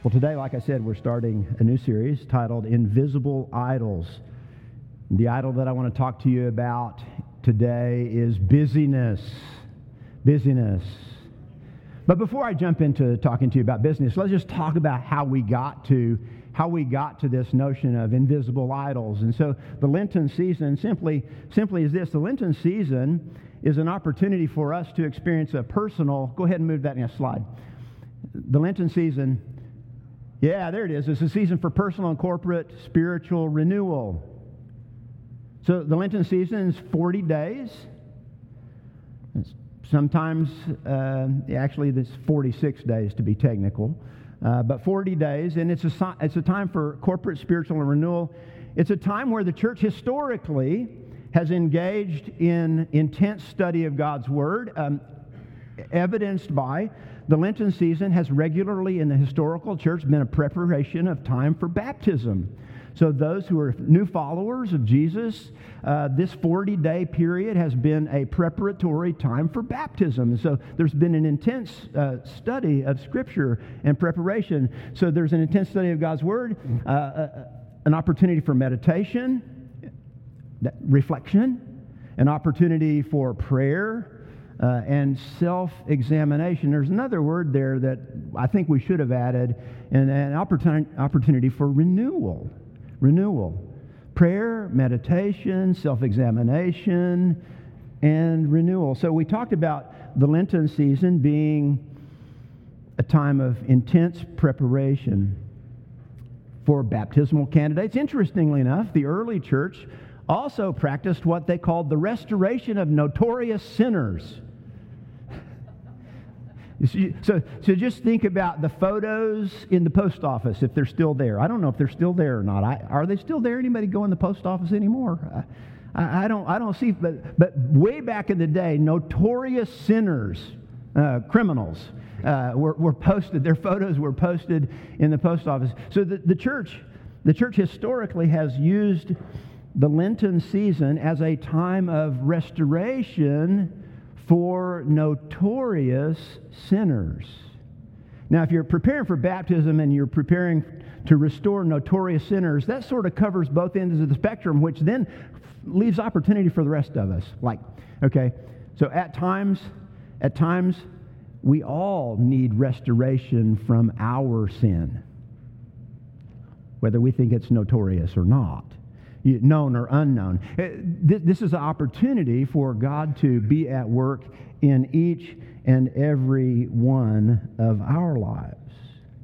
Well, today, like I said, we're starting a new series titled Invisible Idols. The idol that I want to talk to you about today is busyness. Busyness. But before I jump into talking to you about business, let's just talk about how we got to this notion of invisible idols. And so the Lenten season simply is this. The Lenten season is an opportunity for us to experience a personal, go ahead and move that next slide. The Lenten season, yeah, there it is. It's a season for personal and corporate spiritual renewal. So the Lenten season is 40 days. Sometimes, actually, it's 46 days to be technical, but 40 days, and it's a time for corporate spiritual renewal. It's a time where the church historically has engaged in intense study of God's Word, evidenced by the Lenten season has regularly in the historical church been a preparation of time for baptism. So those who are new followers of Jesus, this 40-day period has been a preparatory time for baptism. And so there's been an intense study of Scripture and preparation. So there's an intense study of God's Word, an opportunity for meditation, reflection, an opportunity for prayer, and self-examination. There's another word there that I think we should have added, an opportunity for renewal. Renewal. Prayer, meditation, self-examination, and renewal. So we talked about the Lenten season being a time of intense preparation for baptismal candidates. Interestingly enough, the early church also practiced what they called the restoration of notorious sinners. So just think about the photos in the post office, if they're still there. I don't know if they're still there or not. Are they still there? Anybody go in the post office anymore? I don't see, but way back in the day, notorious sinners, criminals, were posted. Their photos were posted in the post office. So the church historically has used the Lenten season as a time of restoration for notorious sinners. Now, if you're preparing for baptism and you're preparing to restore notorious sinners, that sort of covers both ends of the spectrum, which then leaves opportunity for the rest of us. So at times, we all need restoration from our sin, whether we think it's notorious or not, known or unknown. This is an opportunity for God to be at work in each and every one of our lives.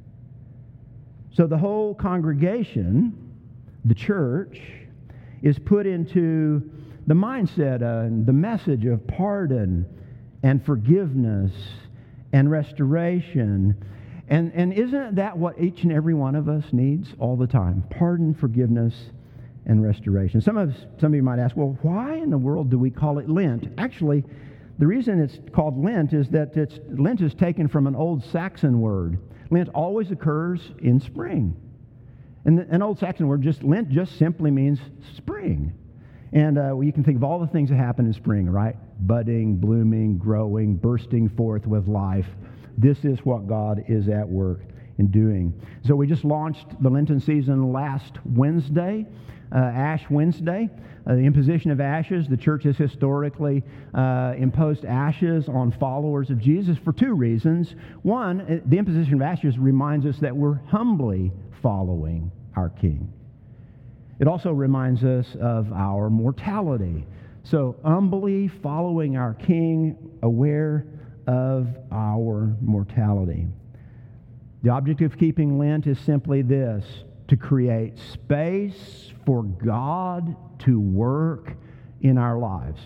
So the whole congregation, the church, is put into the mindset and the message of pardon and forgiveness and restoration. And isn't that what each and every one of us needs all the time? Pardon, forgiveness, and restoration. Some of you might ask, well, why in the world do we call it Lent? Actually, the reason it's called Lent is that Lent is taken from an old Saxon word. Lent always occurs in spring. And an old Saxon word, Lent just simply means spring. And you can think of all the things that happen in spring, right? Budding, blooming, growing, bursting forth with life. This is what God is at work in doing. So we just launched the Lenten season last Wednesday, Ash Wednesday, the imposition of ashes. The church has historically imposed ashes on followers of Jesus for two reasons. One, the imposition of ashes reminds us that we're humbly following our King. It also reminds us of our mortality. So humbly following our King, aware of our mortality. The object of keeping Lent is simply this: to create space for God to work in our lives.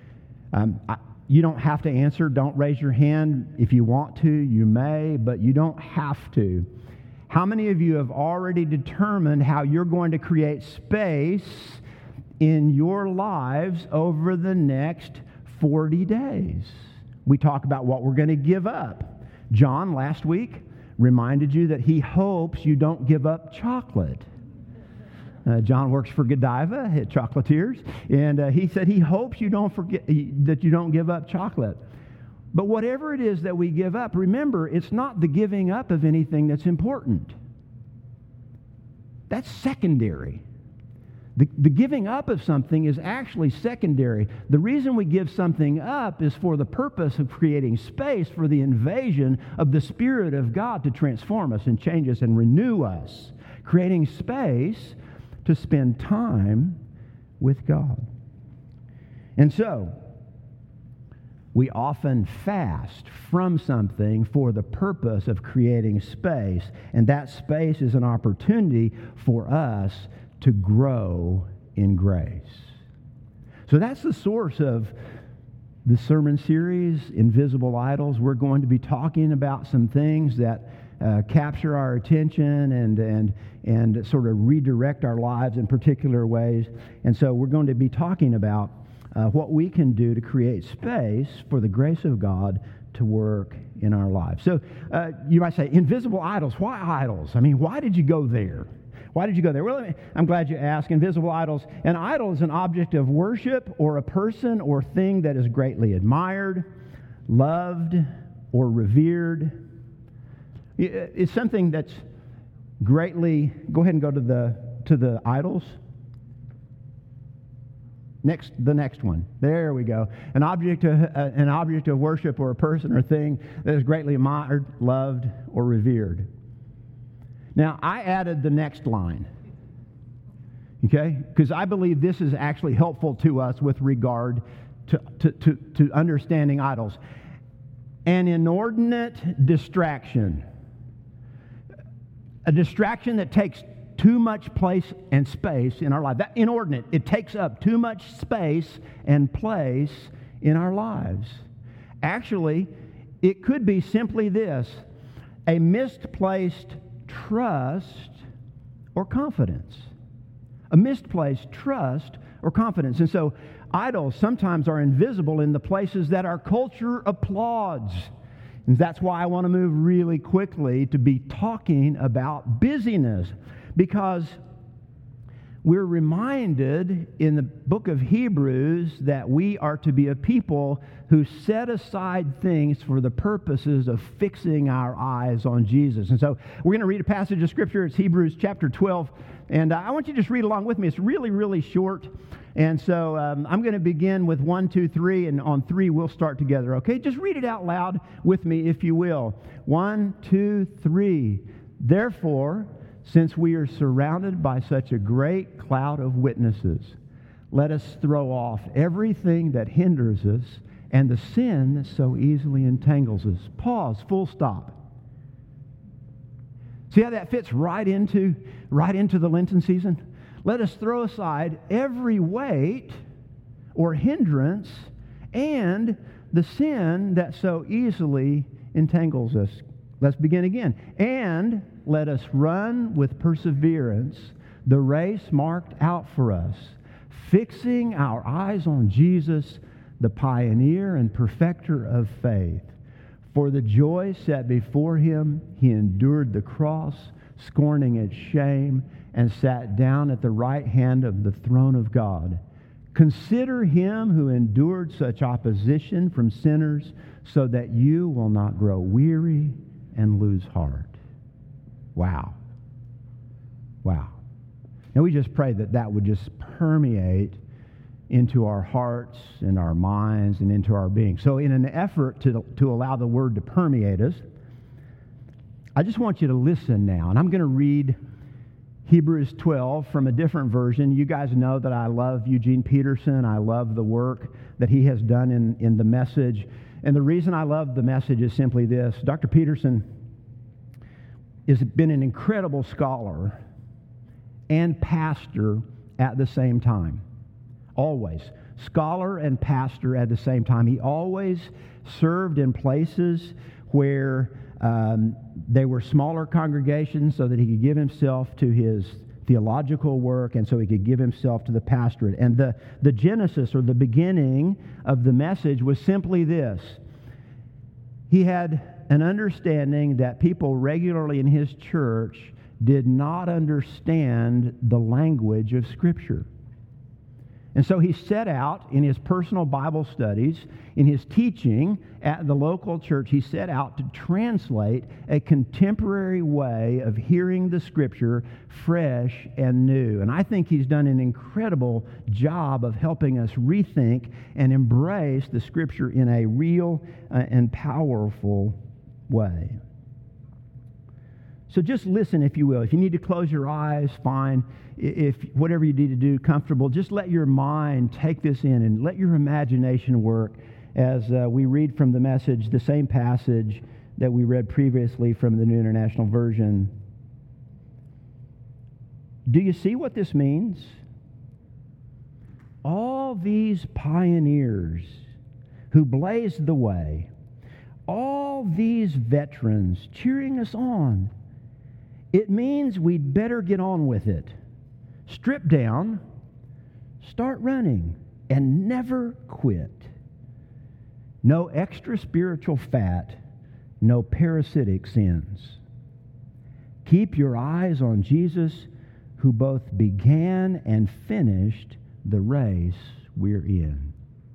You don't have to answer. Don't raise your hand. If you want to, you may, but you don't have to. How many of you have already determined how you're going to create space in your lives over the next 40 days? We talk about what we're going to give up. John, last week, reminded you that he hopes you don't give up chocolate. John works for Godiva at Chocolatiers, and he said he hopes you don't forget that you don't give up chocolate. But whatever it is that we give up, remember, it's not the giving up of anything that's important. that's secondary. The giving up of something is actually secondary. The reason we give something up is for the purpose of creating space for the invasion of the Spirit of God to transform us and change us and renew us, creating space to spend time with God. And so, we often fast from something for the purpose of creating space, and that space is an opportunity for us to grow in grace. So that's the source of the sermon series, Invisible Idols. We're going to be talking about some things that capture our attention and sort of redirect our lives in particular ways. And so we're going to be talking about what we can do to create space for the grace of God to work in our lives. So you might say, invisible idols. Why idols? I mean, why did you go there? Why did you go there? Well, I'm glad you asked. Invisible idols. An idol is an object of worship or a person or thing that is greatly admired, loved, or revered. It's something that's greatly... Go ahead and go to the idols. The next one. There we go. An object of worship or a person or thing that is greatly admired, loved, or revered. Now, I added the next line, okay? Because I believe this is actually helpful to us with regard to understanding idols. An inordinate distraction. A distraction that takes too much place and space in our life. That inordinate, it takes up too much space and place in our lives. Actually, it could be simply this: a misplaced trust or confidence. A misplaced trust or confidence. And so idols sometimes are invisible in the places that our culture applauds. And that's why I want to move really quickly to be talking about busyness, because we're reminded in the book of Hebrews that we are to be a people who set aside things for the purposes of fixing our eyes on Jesus. And so we're going to read a passage of Scripture. It's Hebrews chapter 12. And I want you to just read along with me. It's really, really short. And so I'm going to begin with 1, 2, 3. And on 3, we'll start together. Okay? Just read it out loud with me, if you will. 1, 2, 3. Therefore, since we are surrounded by such a great cloud of witnesses, let us throw off everything that hinders us and the sin that so easily entangles us. Pause, full stop. See how that fits right into the Lenten season? Let us throw aside every weight or hindrance and the sin that so easily entangles us. Let's begin again. And let us run with perseverance the race marked out for us, fixing our eyes on Jesus, the pioneer and perfecter of faith. For the joy set before him, he endured the cross, scorning its shame, and sat down at the right hand of the throne of God. Consider him who endured such opposition from sinners, so that you will not grow weary and lose heart. Wow. Wow. And we just pray that would just permeate into our hearts and our minds and into our being. So in an effort to allow the Word to permeate us, I just want you to listen now. And I'm going to read Hebrews 12 from a different version. You guys know that I love Eugene Peterson. I love the work that he has done in the Message. And the reason I love the Message is simply this. Dr. Peterson has been an incredible scholar and pastor at the same time. Always. Scholar and pastor at the same time. He always served in places where they were smaller congregations so that he could give himself to his theological work and so he could give himself to the pastorate. And the genesis or the beginning of the Message was simply this. He had an understanding that people regularly in his church did not understand the language of Scripture. And so he set out in his personal Bible studies, in his teaching at the local church, he set out to translate a contemporary way of hearing the Scripture fresh and new. And I think he's done an incredible job of helping us rethink and embrace the Scripture in a real and powerful way. So just listen, if you will. If you need to close your eyes, fine. If whatever you need to do, comfortable, just let your mind take this in and let your imagination work as we read from the Message, the same passage that we read previously from the New International Version. Do you see what this means? All these pioneers who blazed the way, all these veterans cheering us on, it means we'd better get on with it. Strip down, start running, and never quit. No extra spiritual fat, no parasitic sins. Keep your eyes on Jesus, who both began and finished the race we're in.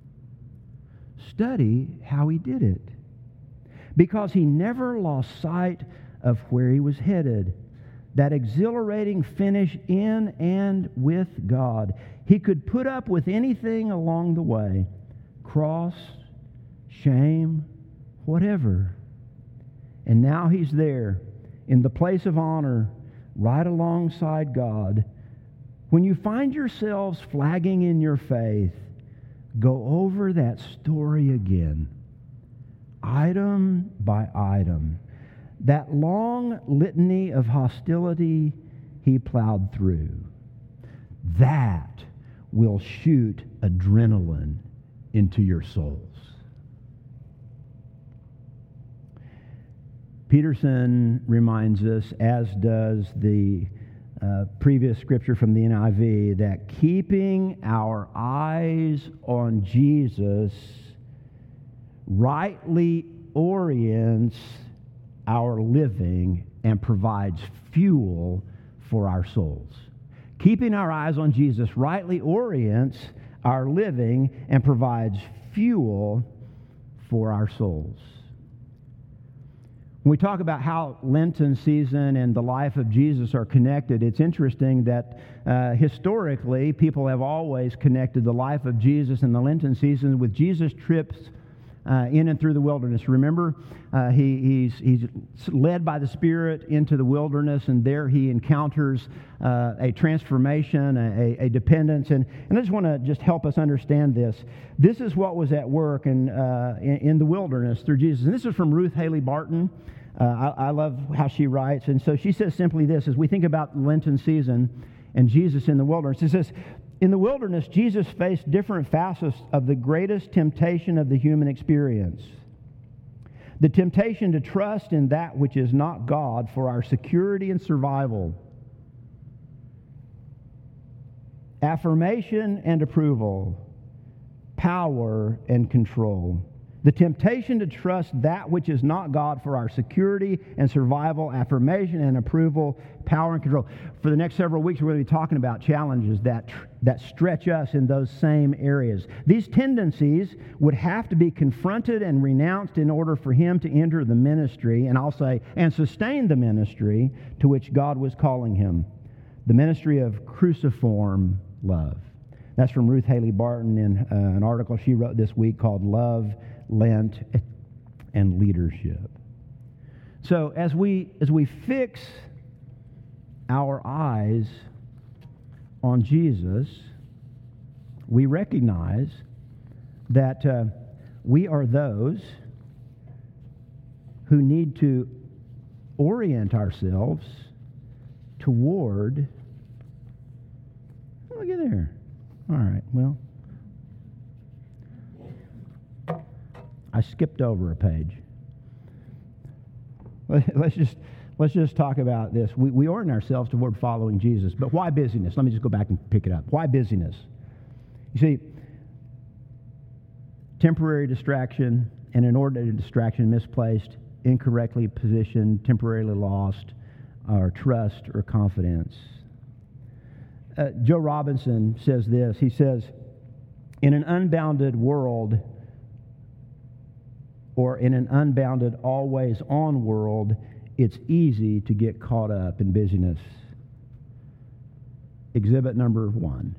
Study how he did it, because he never lost sight of where he was headed. That exhilarating finish in and with God. He could put up with anything along the way. Cross, shame, whatever. And now he's there in the place of honor, right alongside God. When you find yourselves flagging in your faith, go over that story again, item by item. That long litany of hostility he plowed through, that will shoot adrenaline into your souls. Peterson reminds us, as does the previous scripture from the NIV, that keeping our eyes on Jesus rightly orients our living and provides fuel for our souls. Keeping our eyes on Jesus rightly orients our living and provides fuel for our souls. When we talk about how Lenten season and the life of Jesus are connected, it's interesting that historically people have always connected the life of Jesus and the Lenten season with Jesus' trips in and through the wilderness. Remember, he's led by the Spirit into the wilderness, and there he encounters a transformation, a dependence. And I just want to just help us understand this. This is what was at work in the wilderness through Jesus. And this is from Ruth Haley Barton. I love how she writes. And so she says simply this, as we think about Lenten season and Jesus in the wilderness. It says, in the wilderness, Jesus faced different facets of the greatest temptation of the human experience. The temptation to trust in that which is not God for our security and survival. Affirmation and approval. Power and control. The temptation to trust that which is not God for our security and survival, affirmation and approval, power and control. For the next several weeks, we're going to be talking about challenges that stretch us in those same areas. These tendencies would have to be confronted and renounced in order for him to enter the ministry, and I'll say, and sustain the ministry to which God was calling him. The ministry of cruciform love. That's from Ruth Haley Barton in an article she wrote this week called Love, Lent, and Leadership. So as we fix our eyes on Jesus, we recognize that we are those who need to orient ourselves toward... Look at there. All right, well, I skipped over a page. Let's just talk about this. We orient ourselves toward following Jesus, but why busyness? Let me just go back and pick it up. Why busyness? You see, temporary distraction and inordinate distraction, misplaced, incorrectly positioned, temporarily lost, or trust or confidence. Joe Robinson says this. He says, In an unbounded world, or in an unbounded, always-on world, it's easy to get caught up in busyness. Exhibit number 1.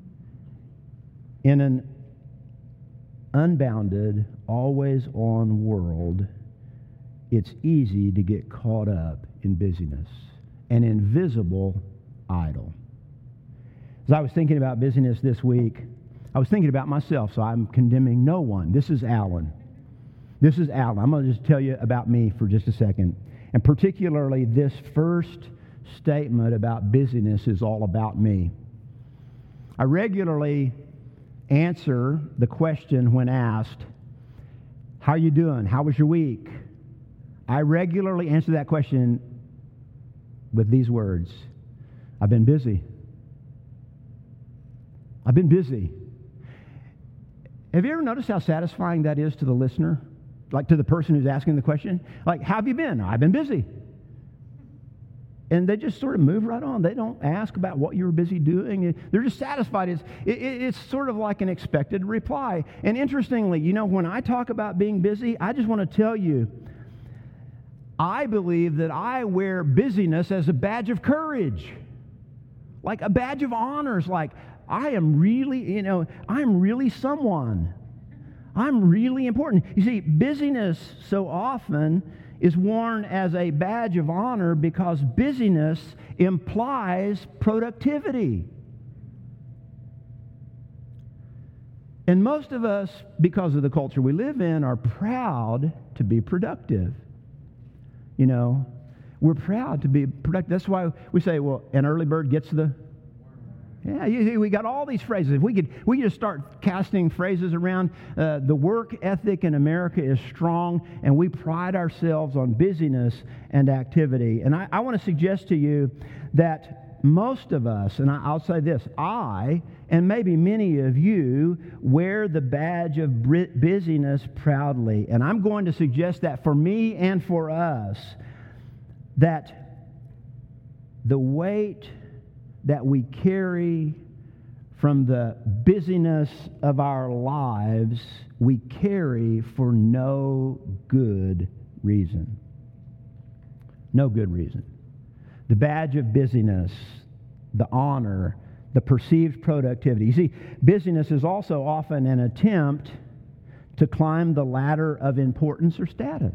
In an unbounded, always-on world, it's easy to get caught up in busyness, an invisible idol. As I was thinking about busyness this week, I was thinking about myself, so I'm condemning no one. This is Alan. This is Alan. I'm going to just tell you about me for just a second. And particularly this first statement about busyness is all about me. I regularly answer the question when asked, how are you doing? How was your week? I regularly answer that question with these words, I've been busy. I've been busy. Have you ever noticed how satisfying that is to the listener? Like to the person who's asking the question? Like, how have you been? I've been busy. And they just sort of move right on. They don't ask about what you were busy doing. They're just satisfied. It's sort of like an expected reply. And interestingly, when I talk about being busy, I just want to tell you, I believe that I wear busyness as a badge of courage. Like a badge of honors. Like, I am really, I'm really someone. I'm really important. You see, busyness so often is worn as a badge of honor because busyness implies productivity. And most of us, because of the culture we live in, are proud to be productive. We're proud to be productive. That's why we say, well, an early bird gets the... Yeah, we got all these phrases. If we could just start casting phrases around. The work ethic in America is strong, and we pride ourselves on busyness and activity. And I want to suggest to you that most of us, and I'll say this, I, and maybe many of you, wear the badge of busyness proudly. And I'm going to suggest that for me and for us, that the weight that we carry from the busyness of our lives, we carry for no good reason. No good reason. The badge of busyness, the honor, the perceived productivity. You see, busyness is also often an attempt to climb the ladder of importance or status.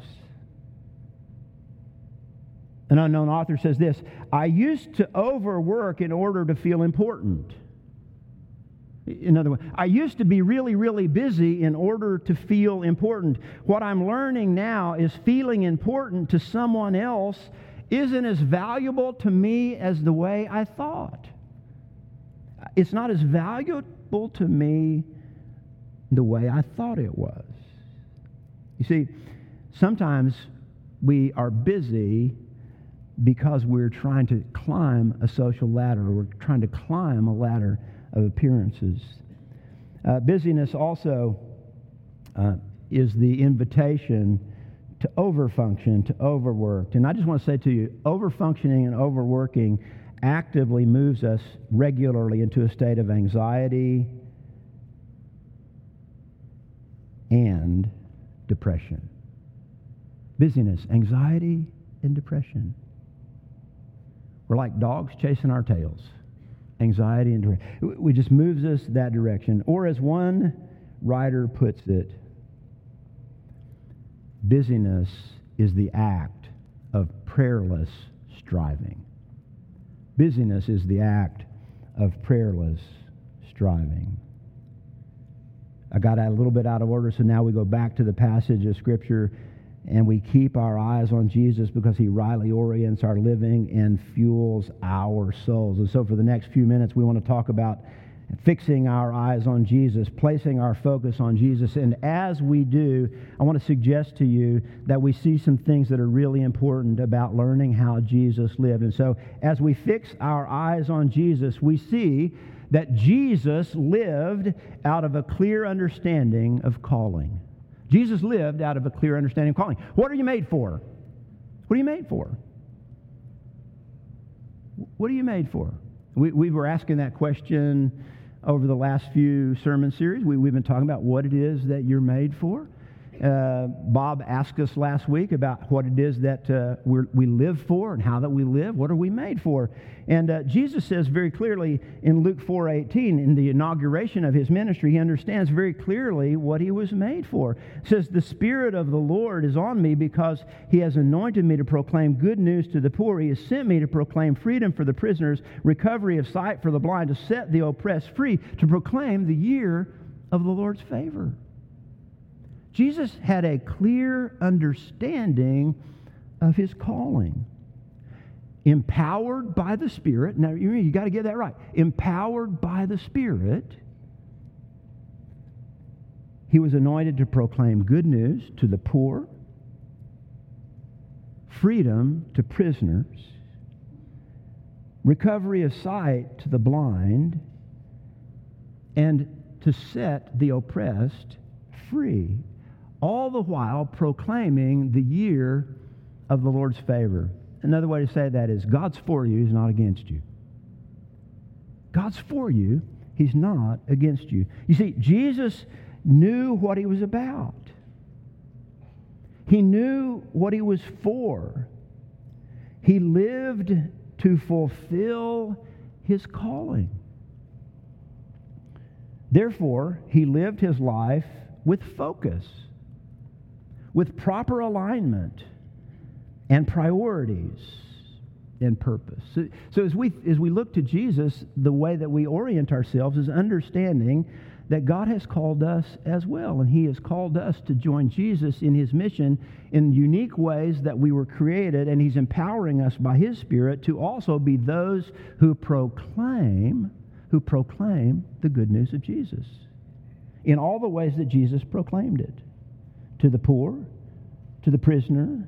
An unknown author says this, I used to overwork in order to feel important. In other words, I used to be really, really busy in order to feel important. What I'm learning now is feeling important to someone else isn't as valuable to me as the way I thought. It's not as valuable to me the way I thought it was. You see, sometimes we are busy because we're trying to climb a social ladder. We're trying to climb a ladder of appearances. Busyness also is the invitation to overfunction, to overwork. And I just want to say to you, overfunctioning and overworking actively moves us regularly into a state of anxiety and depression. Busyness, anxiety, and depression. We're like dogs chasing our tails. Anxiety and depression. It just moves us that direction. Or as one writer puts it, busyness is the act of prayerless striving. Busyness is the act of prayerless striving. I got a little bit out of order, so now we go back to the passage of Scripture and we keep our eyes on Jesus because He rightly orients our living and fuels our souls. And so for the next few minutes, we want to talk about fixing our eyes on Jesus, placing our focus on Jesus. And as we do, I want to suggest to you that we see some things that are really important about learning how Jesus lived. And so as we fix our eyes on Jesus, we see that Jesus lived out of a clear understanding of calling. Jesus lived out of a clear understanding of calling. What are you made for? What are you made for? What are you made for? We were asking that question over the last few sermon series. We've been talking about what it is that you're made for. Bob asked us last week about what it is that we live for and how that we live. What are we made for? And Jesus says very clearly in Luke 4:18, in the inauguration of his ministry, he understands very clearly what he was made for. It says, "The Spirit of the Lord is on me because he has anointed me to proclaim good news to the poor. He has sent me to proclaim freedom for the prisoners, recovery of sight for the blind, to set the oppressed free, to proclaim the year of the Lord's favor." Jesus had a clear understanding of his calling. Empowered by the Spirit. Now, you got to get that right. Empowered by the Spirit, he was anointed to proclaim good news to the poor, freedom to prisoners, recovery of sight to the blind, and to set the oppressed free. All the while proclaiming the year of the Lord's favor. Another way to say that is God's for you, he's not against you. God's for you, he's not against you. You see, Jesus knew what he was about. He knew what he was for. He lived to fulfill his calling. Therefore, he lived his life with focus, with proper alignment and priorities and purpose. So as we look to Jesus, the way that we orient ourselves is understanding that God has called us as well, and he has called us to join Jesus in his mission in unique ways that we were created, and he's empowering us by his Spirit to also be those who proclaim the good news of Jesus in all the ways that Jesus proclaimed it. To the poor, to the prisoner,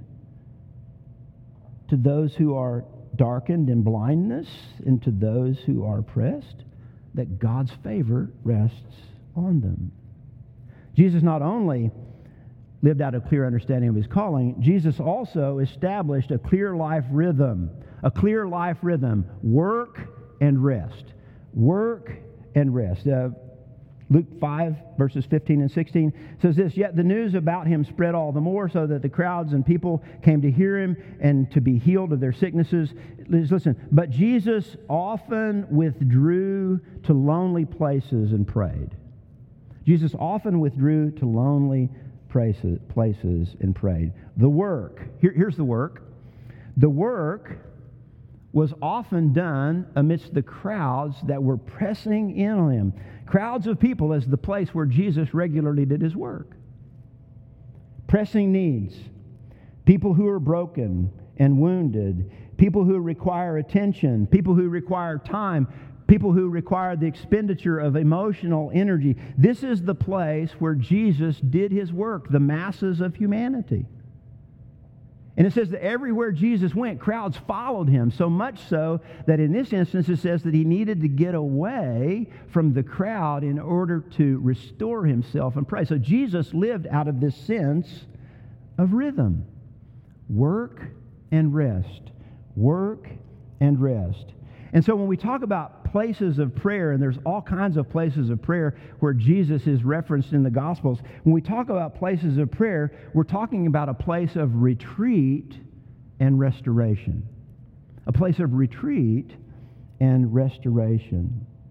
to those who are darkened in blindness, and to those who are oppressed, that God's favor rests on them. Jesus not only lived out a clear understanding of his calling, Jesus also established a clear life rhythm. A clear life rhythm. Work and rest. Work and rest. Luke 5, verses 15 and 16 says this, "Yet the news about him spread all the more, so that the crowds and people came to hear him and to be healed of their sicknesses." Listen, "But Jesus often withdrew to lonely places and prayed." Jesus often withdrew to lonely places and prayed. The work, here's the work. The work was often done amidst the crowds that were pressing in on him. Crowds of people as the place where Jesus regularly did his work. Pressing needs. People who are broken and wounded. People who require attention. People who require time. People who require the expenditure of emotional energy. This is the place where Jesus did his work, the masses of humanity. And it says that everywhere Jesus went, crowds followed him, so much so that in this instance it says that he needed to get away from the crowd in order to restore himself and pray. So Jesus lived out of this sense of rhythm. Work and rest. Work and rest. And so when we talk about places of prayer, and there's all kinds of places of prayer where Jesus is referenced in the Gospels, when we talk about places of prayer, we're talking about a place of retreat and restoration. A place of retreat and restoration.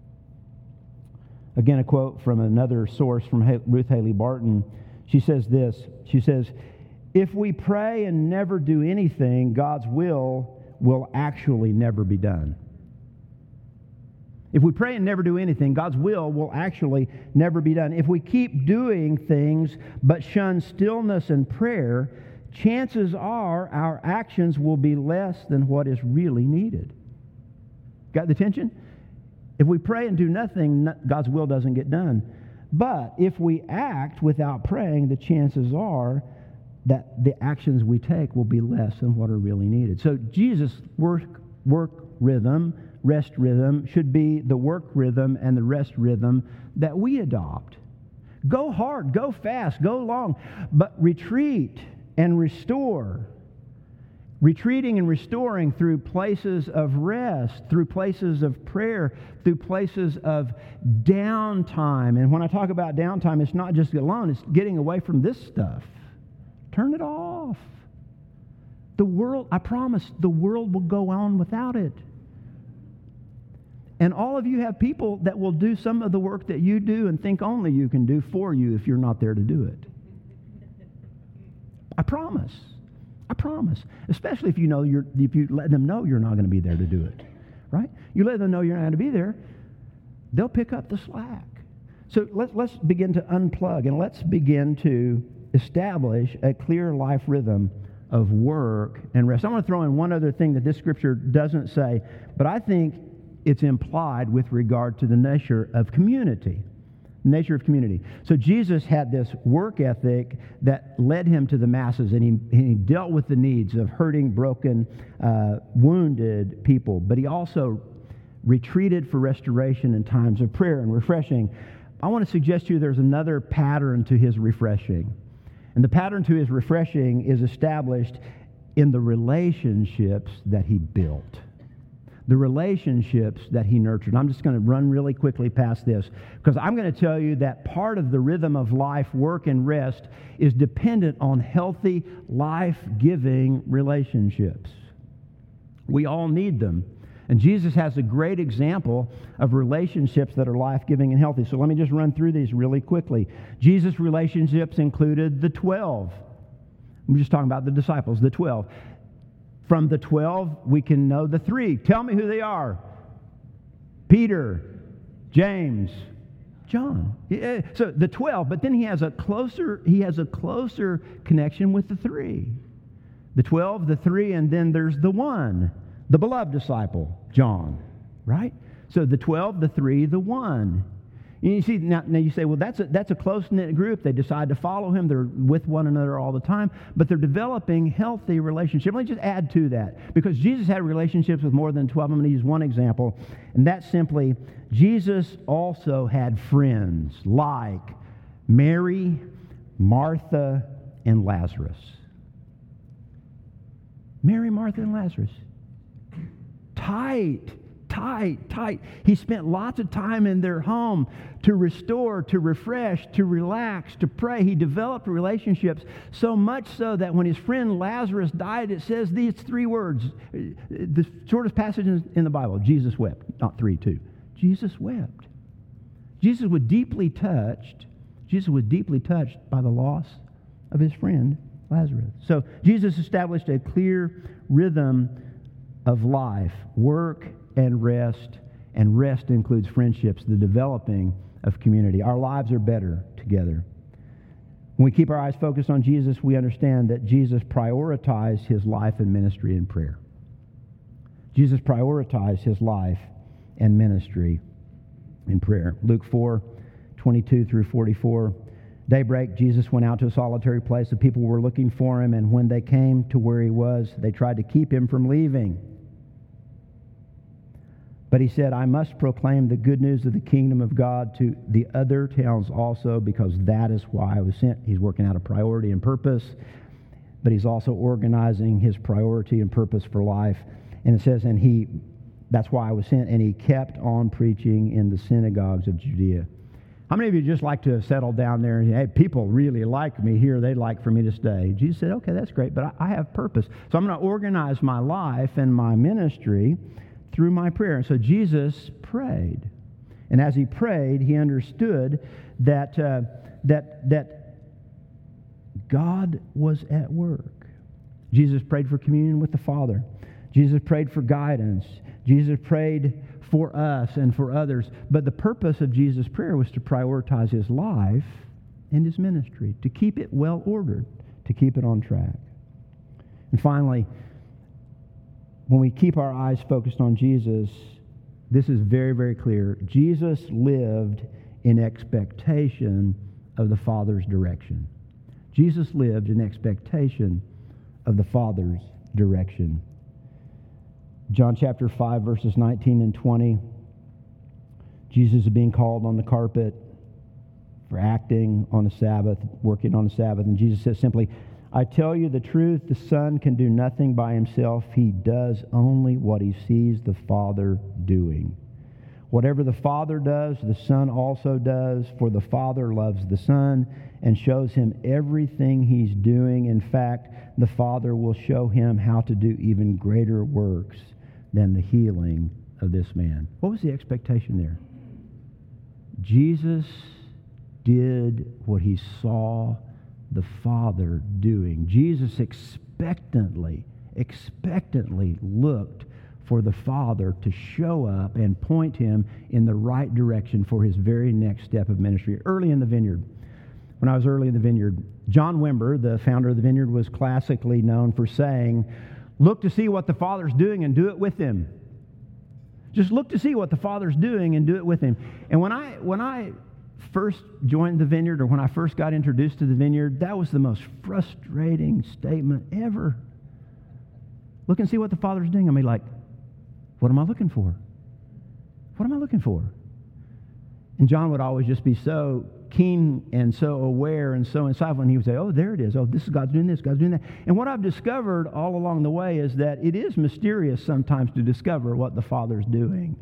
Again, a quote from another source from Ruth Haley Barton. She says this, she says, "If we pray and never do anything, God's will actually never be done." If we pray and never do anything, God's will actually never be done. If we keep doing things but shun stillness and prayer, chances are our actions will be less than what is really needed. Got the tension? If we pray and do nothing, God's will doesn't get done. But if we act without praying, the chances are that the actions we take will be less than what are really needed. So Jesus' work rhythm, rest rhythm, should be the work rhythm and the rest rhythm that we adopt. Go hard, go fast, go long, but retreat and restore. retreating and restoring through places of rest, through places of prayer, through places of downtime. And when I talk about downtime, it's not just alone, it's getting away from this stuff. Turn it off. The world, I promise, the world will go on without it. And all of you have people that will do some of the work that you do and think only you can do for you if you're not there to do it. I promise. I promise. Especially if you let them know you're not going to be there to do it. Right? You let them know you're not going to be there, they'll pick up the slack. So let's begin to unplug and let's begin to establish a clear life rhythm of work and rest. I want to throw in one other thing that this scripture doesn't say, but I think it's implied with regard to the nature of community. Nature of community. So Jesus had this work ethic that led him to the masses, and he dealt with the needs of hurting, broken, wounded people. But he also retreated for restoration in times of prayer and refreshing. I want to suggest to you there's another pattern to his refreshing. And the pattern to his refreshing is established in the relationships that he built. The relationships that he nurtured. I'm just going to run really quickly past this because I'm going to tell you that part of the rhythm of life, work, and rest is dependent on healthy, life-giving relationships. We all need them. And Jesus has a great example of relationships that are life-giving and healthy. So let me just run through these really quickly. Jesus' relationships included the 12. I'm just talking about the disciples, the 12. From the 12, we can know the 3. Tell me who they are. Peter, James, John. So the 12, but then he has a closer connection with the 3. The 12, the 3, and then there's the 1, the beloved disciple, John, right? So the 12, the 3, the 1. And you see, now you say, well, that's a close-knit group. They decide to follow him. They're with one another all the time, but they're developing healthy relationships. Let me just add to that, because Jesus had relationships with more than 12. I'm going to use one example, and that's simply Jesus also had friends like Mary, Martha, and Lazarus. Mary, Martha, and Lazarus. Tight. He spent lots of time in their home to restore, to refresh, to relax, to pray. He developed relationships so much so that when his friend Lazarus died, it says these 3 words, the shortest passage in the Bible, Jesus wept. Not 3, 2. Jesus wept. Jesus was deeply touched by the loss of his friend Lazarus. So Jesus established a clear rhythm of life, work, and rest includes friendships, the developing of community. Our lives are better together. When we keep our eyes focused on Jesus, we understand that Jesus prioritized his life and ministry in prayer. Jesus prioritized his life and ministry in prayer. Luke 4:22 through 44. Daybreak, Jesus went out to a solitary place. The people were looking for him, and when they came to where he was, they tried to keep him from leaving. But he said, I must proclaim the good news of the kingdom of God to the other towns also, because that is why I was sent. He's working out a priority and purpose, but he's also organizing his priority and purpose for life. And it says, that's why I was sent, and he kept on preaching in the synagogues of Judea. How many of you just like to settle down there and, hey, people really like me here, they'd like for me to stay? Jesus said, okay, that's great, but I have purpose. So I'm going to organize my life and my ministry through my prayer. And so Jesus prayed. And as he prayed, he understood that God was at work. Jesus prayed for communion with the Father. Jesus prayed for guidance. Jesus prayed for us and for others. But the purpose of Jesus' prayer was to prioritize his life and his ministry, to keep it well ordered, to keep it on track. And finally, when we keep our eyes focused on Jesus, this is very, very clear. Jesus lived in expectation of the Father's direction. Jesus lived in expectation of the Father's direction. John chapter 5, verses 19 and 20. Jesus is being called on the carpet for acting on a Sabbath, working on a Sabbath. And Jesus says simply, I tell you the truth, the Son can do nothing by himself. He does only what he sees the Father doing. Whatever the Father does, the Son also does, for the Father loves the Son and shows him everything he's doing. In fact, the Father will show him how to do even greater works than the healing of this man. What was the expectation there? Jesus did what he saw the Father doing. Jesus expectantly looked for the Father to show up and point him in the right direction for his very next step of ministry. Early in the Vineyard, when I was early in the Vineyard, John Wimber, the founder of the Vineyard, was classically known for saying, look to see what the Father's doing and do it with him. Just look to see what the Father's doing and do it with him. And when I first joined the Vineyard, or when I first got introduced to the Vineyard, that was the most frustrating statement ever. Look and see what the Father's doing. I mean, like, what am I looking for? What am I looking for? And John would always just be so keen and so aware and so insightful, and he would say, oh, there it is. Oh, this is God's doing this, God's doing that. And what I've discovered all along the way is that it is mysterious sometimes to discover what the Father's doing.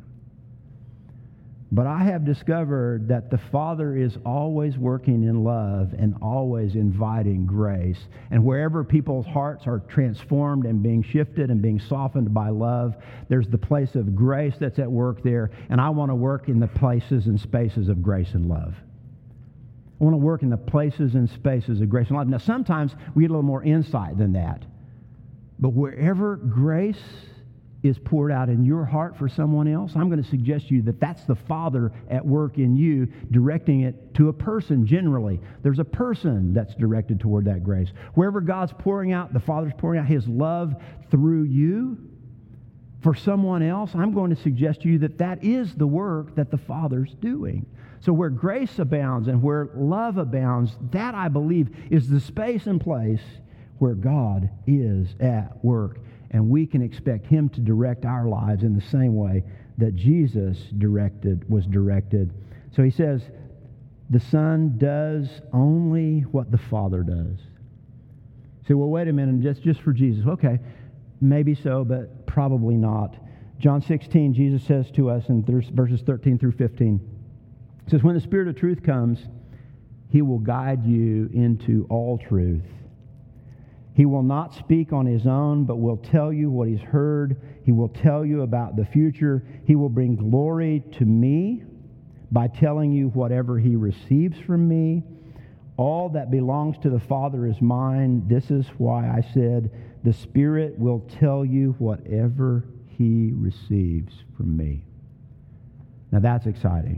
But I have discovered that the Father is always working in love and always inviting grace. And wherever people's hearts are transformed and being shifted and being softened by love, there's the place of grace that's at work there. And I want to work in the places and spaces of grace and love. I want to work in the places and spaces of grace and love. Now, sometimes we get a little more insight than that. But wherever grace is poured out in your heart for someone else, I'm going to suggest to you that that's the Father at work in you, directing it to a person generally. There's a person that's directed toward that grace. Wherever God's pouring out, the Father's pouring out his love through you for someone else, I'm going to suggest to you that that is the work that the Father's doing. So where grace abounds and where love abounds, that, I believe, is the space and place where God is at work. And we can expect him to direct our lives in the same way that Jesus was directed. So he says, the Son does only what the Father does. So, well, wait a minute, just for Jesus. Okay, maybe so, but probably not. John 16, Jesus says to us in verses 13 through 15, he says, when the Spirit of truth comes, he will guide you into all truth. He will not speak on his own, but will tell you what he's heard. He will tell you about the future. He will bring glory to me by telling you whatever he receives from me. All that belongs to the Father is mine. This is why I said, the Spirit will tell you whatever he receives from me. Now that's exciting.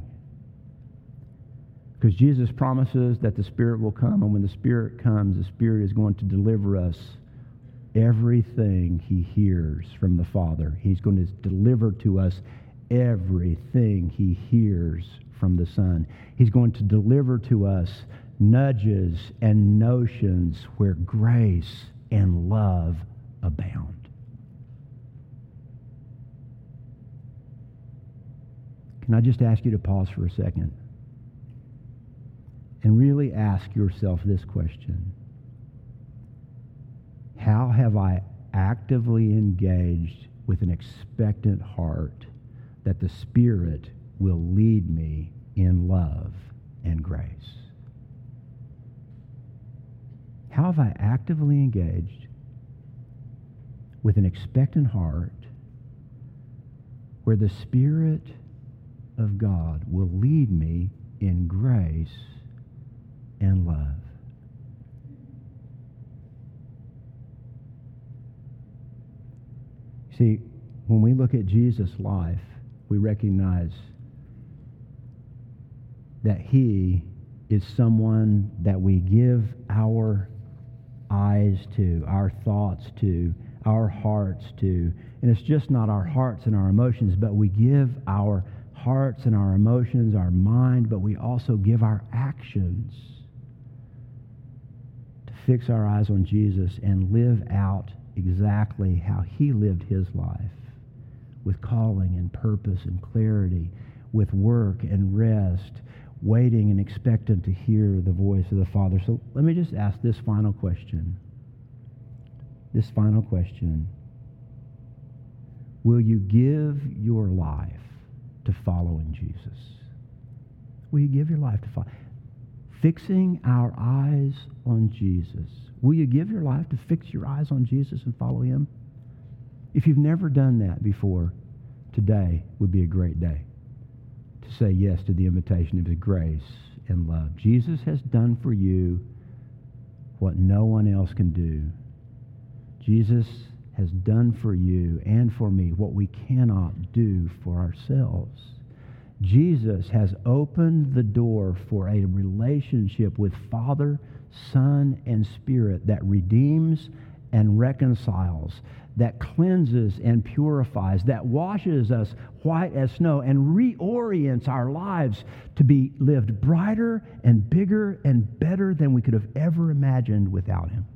Because Jesus promises that the Spirit will come, and when the Spirit comes, the Spirit is going to deliver us everything he hears from the Father. He's going to deliver to us everything he hears from the Son. He's going to deliver to us nudges and notions where grace and love abound. Can I just ask you to pause for a second and really ask yourself this question? How have I actively engaged with an expectant heart that the Spirit will lead me in love and grace? How have I actively engaged with an expectant heart where the Spirit of God will lead me in grace and love? See, when we look at Jesus' life, we recognize that he is someone that we give our eyes to, our thoughts to, our hearts to. And it's just not our hearts and our emotions, but we give our hearts and our emotions, our mind, but we also give our actions to fix our eyes on Jesus and live out exactly how he lived his life, with calling and purpose and clarity, with work and rest, waiting and expectant to hear the voice of the Father. So let me just ask this final question. this final question. Will you give your life to following Jesus? Will you give your life to follow? Fixing our eyes on Jesus. Will you give your life to fix your eyes on Jesus and follow him? If you've never done that before, today would be a great day to say yes to the invitation of his grace and love. Jesus has done for you what no one else can do. Jesus has done for you and for me what we cannot do for ourselves. Jesus has opened the door for a relationship with Father, Son, and Spirit that redeems and reconciles, that cleanses and purifies, that washes us white as snow and reorients our lives to be lived brighter and bigger and better than we could have ever imagined without him.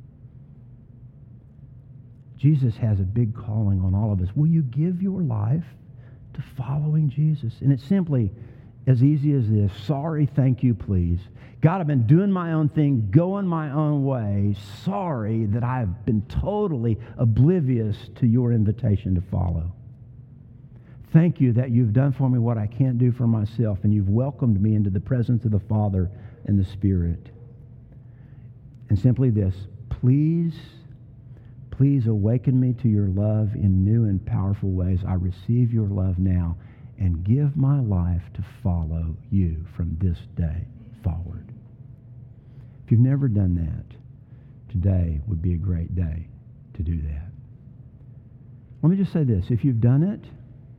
Jesus has a big calling on all of us. Will you give your life to following Jesus? And it's simply as easy as this. Sorry, thank you, please. God, I've been doing my own thing, going my own way. Sorry that I've been totally oblivious to your invitation to follow. Thank you that you've done for me what I can't do for myself, and you've welcomed me into the presence of the Father and the Spirit. And simply this, please awaken me to your love in new and powerful ways. I receive your love now and give my life to follow you from this day forward. If you've never done that, today would be a great day to do that. Let me just say this. If you've done it,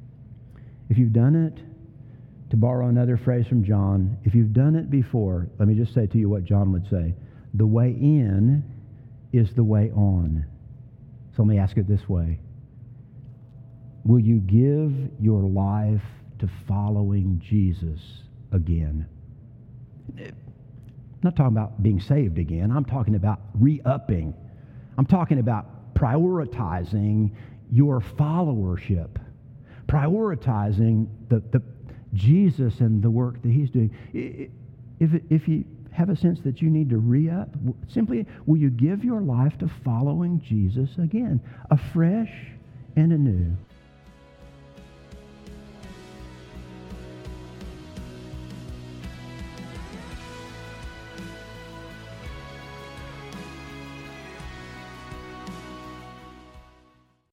to borrow another phrase from John, if you've done it before, let me just say to you what John would say. The way in is the way on. So let me ask it this way. Will you give your life to following Jesus again? I'm not talking about being saved again. I'm talking about re-upping. I'm talking about prioritizing your followership. Prioritizing the Jesus and the work that he's doing. If you have a sense that you need to re-up, simply, will you give your life to following Jesus again, afresh and anew?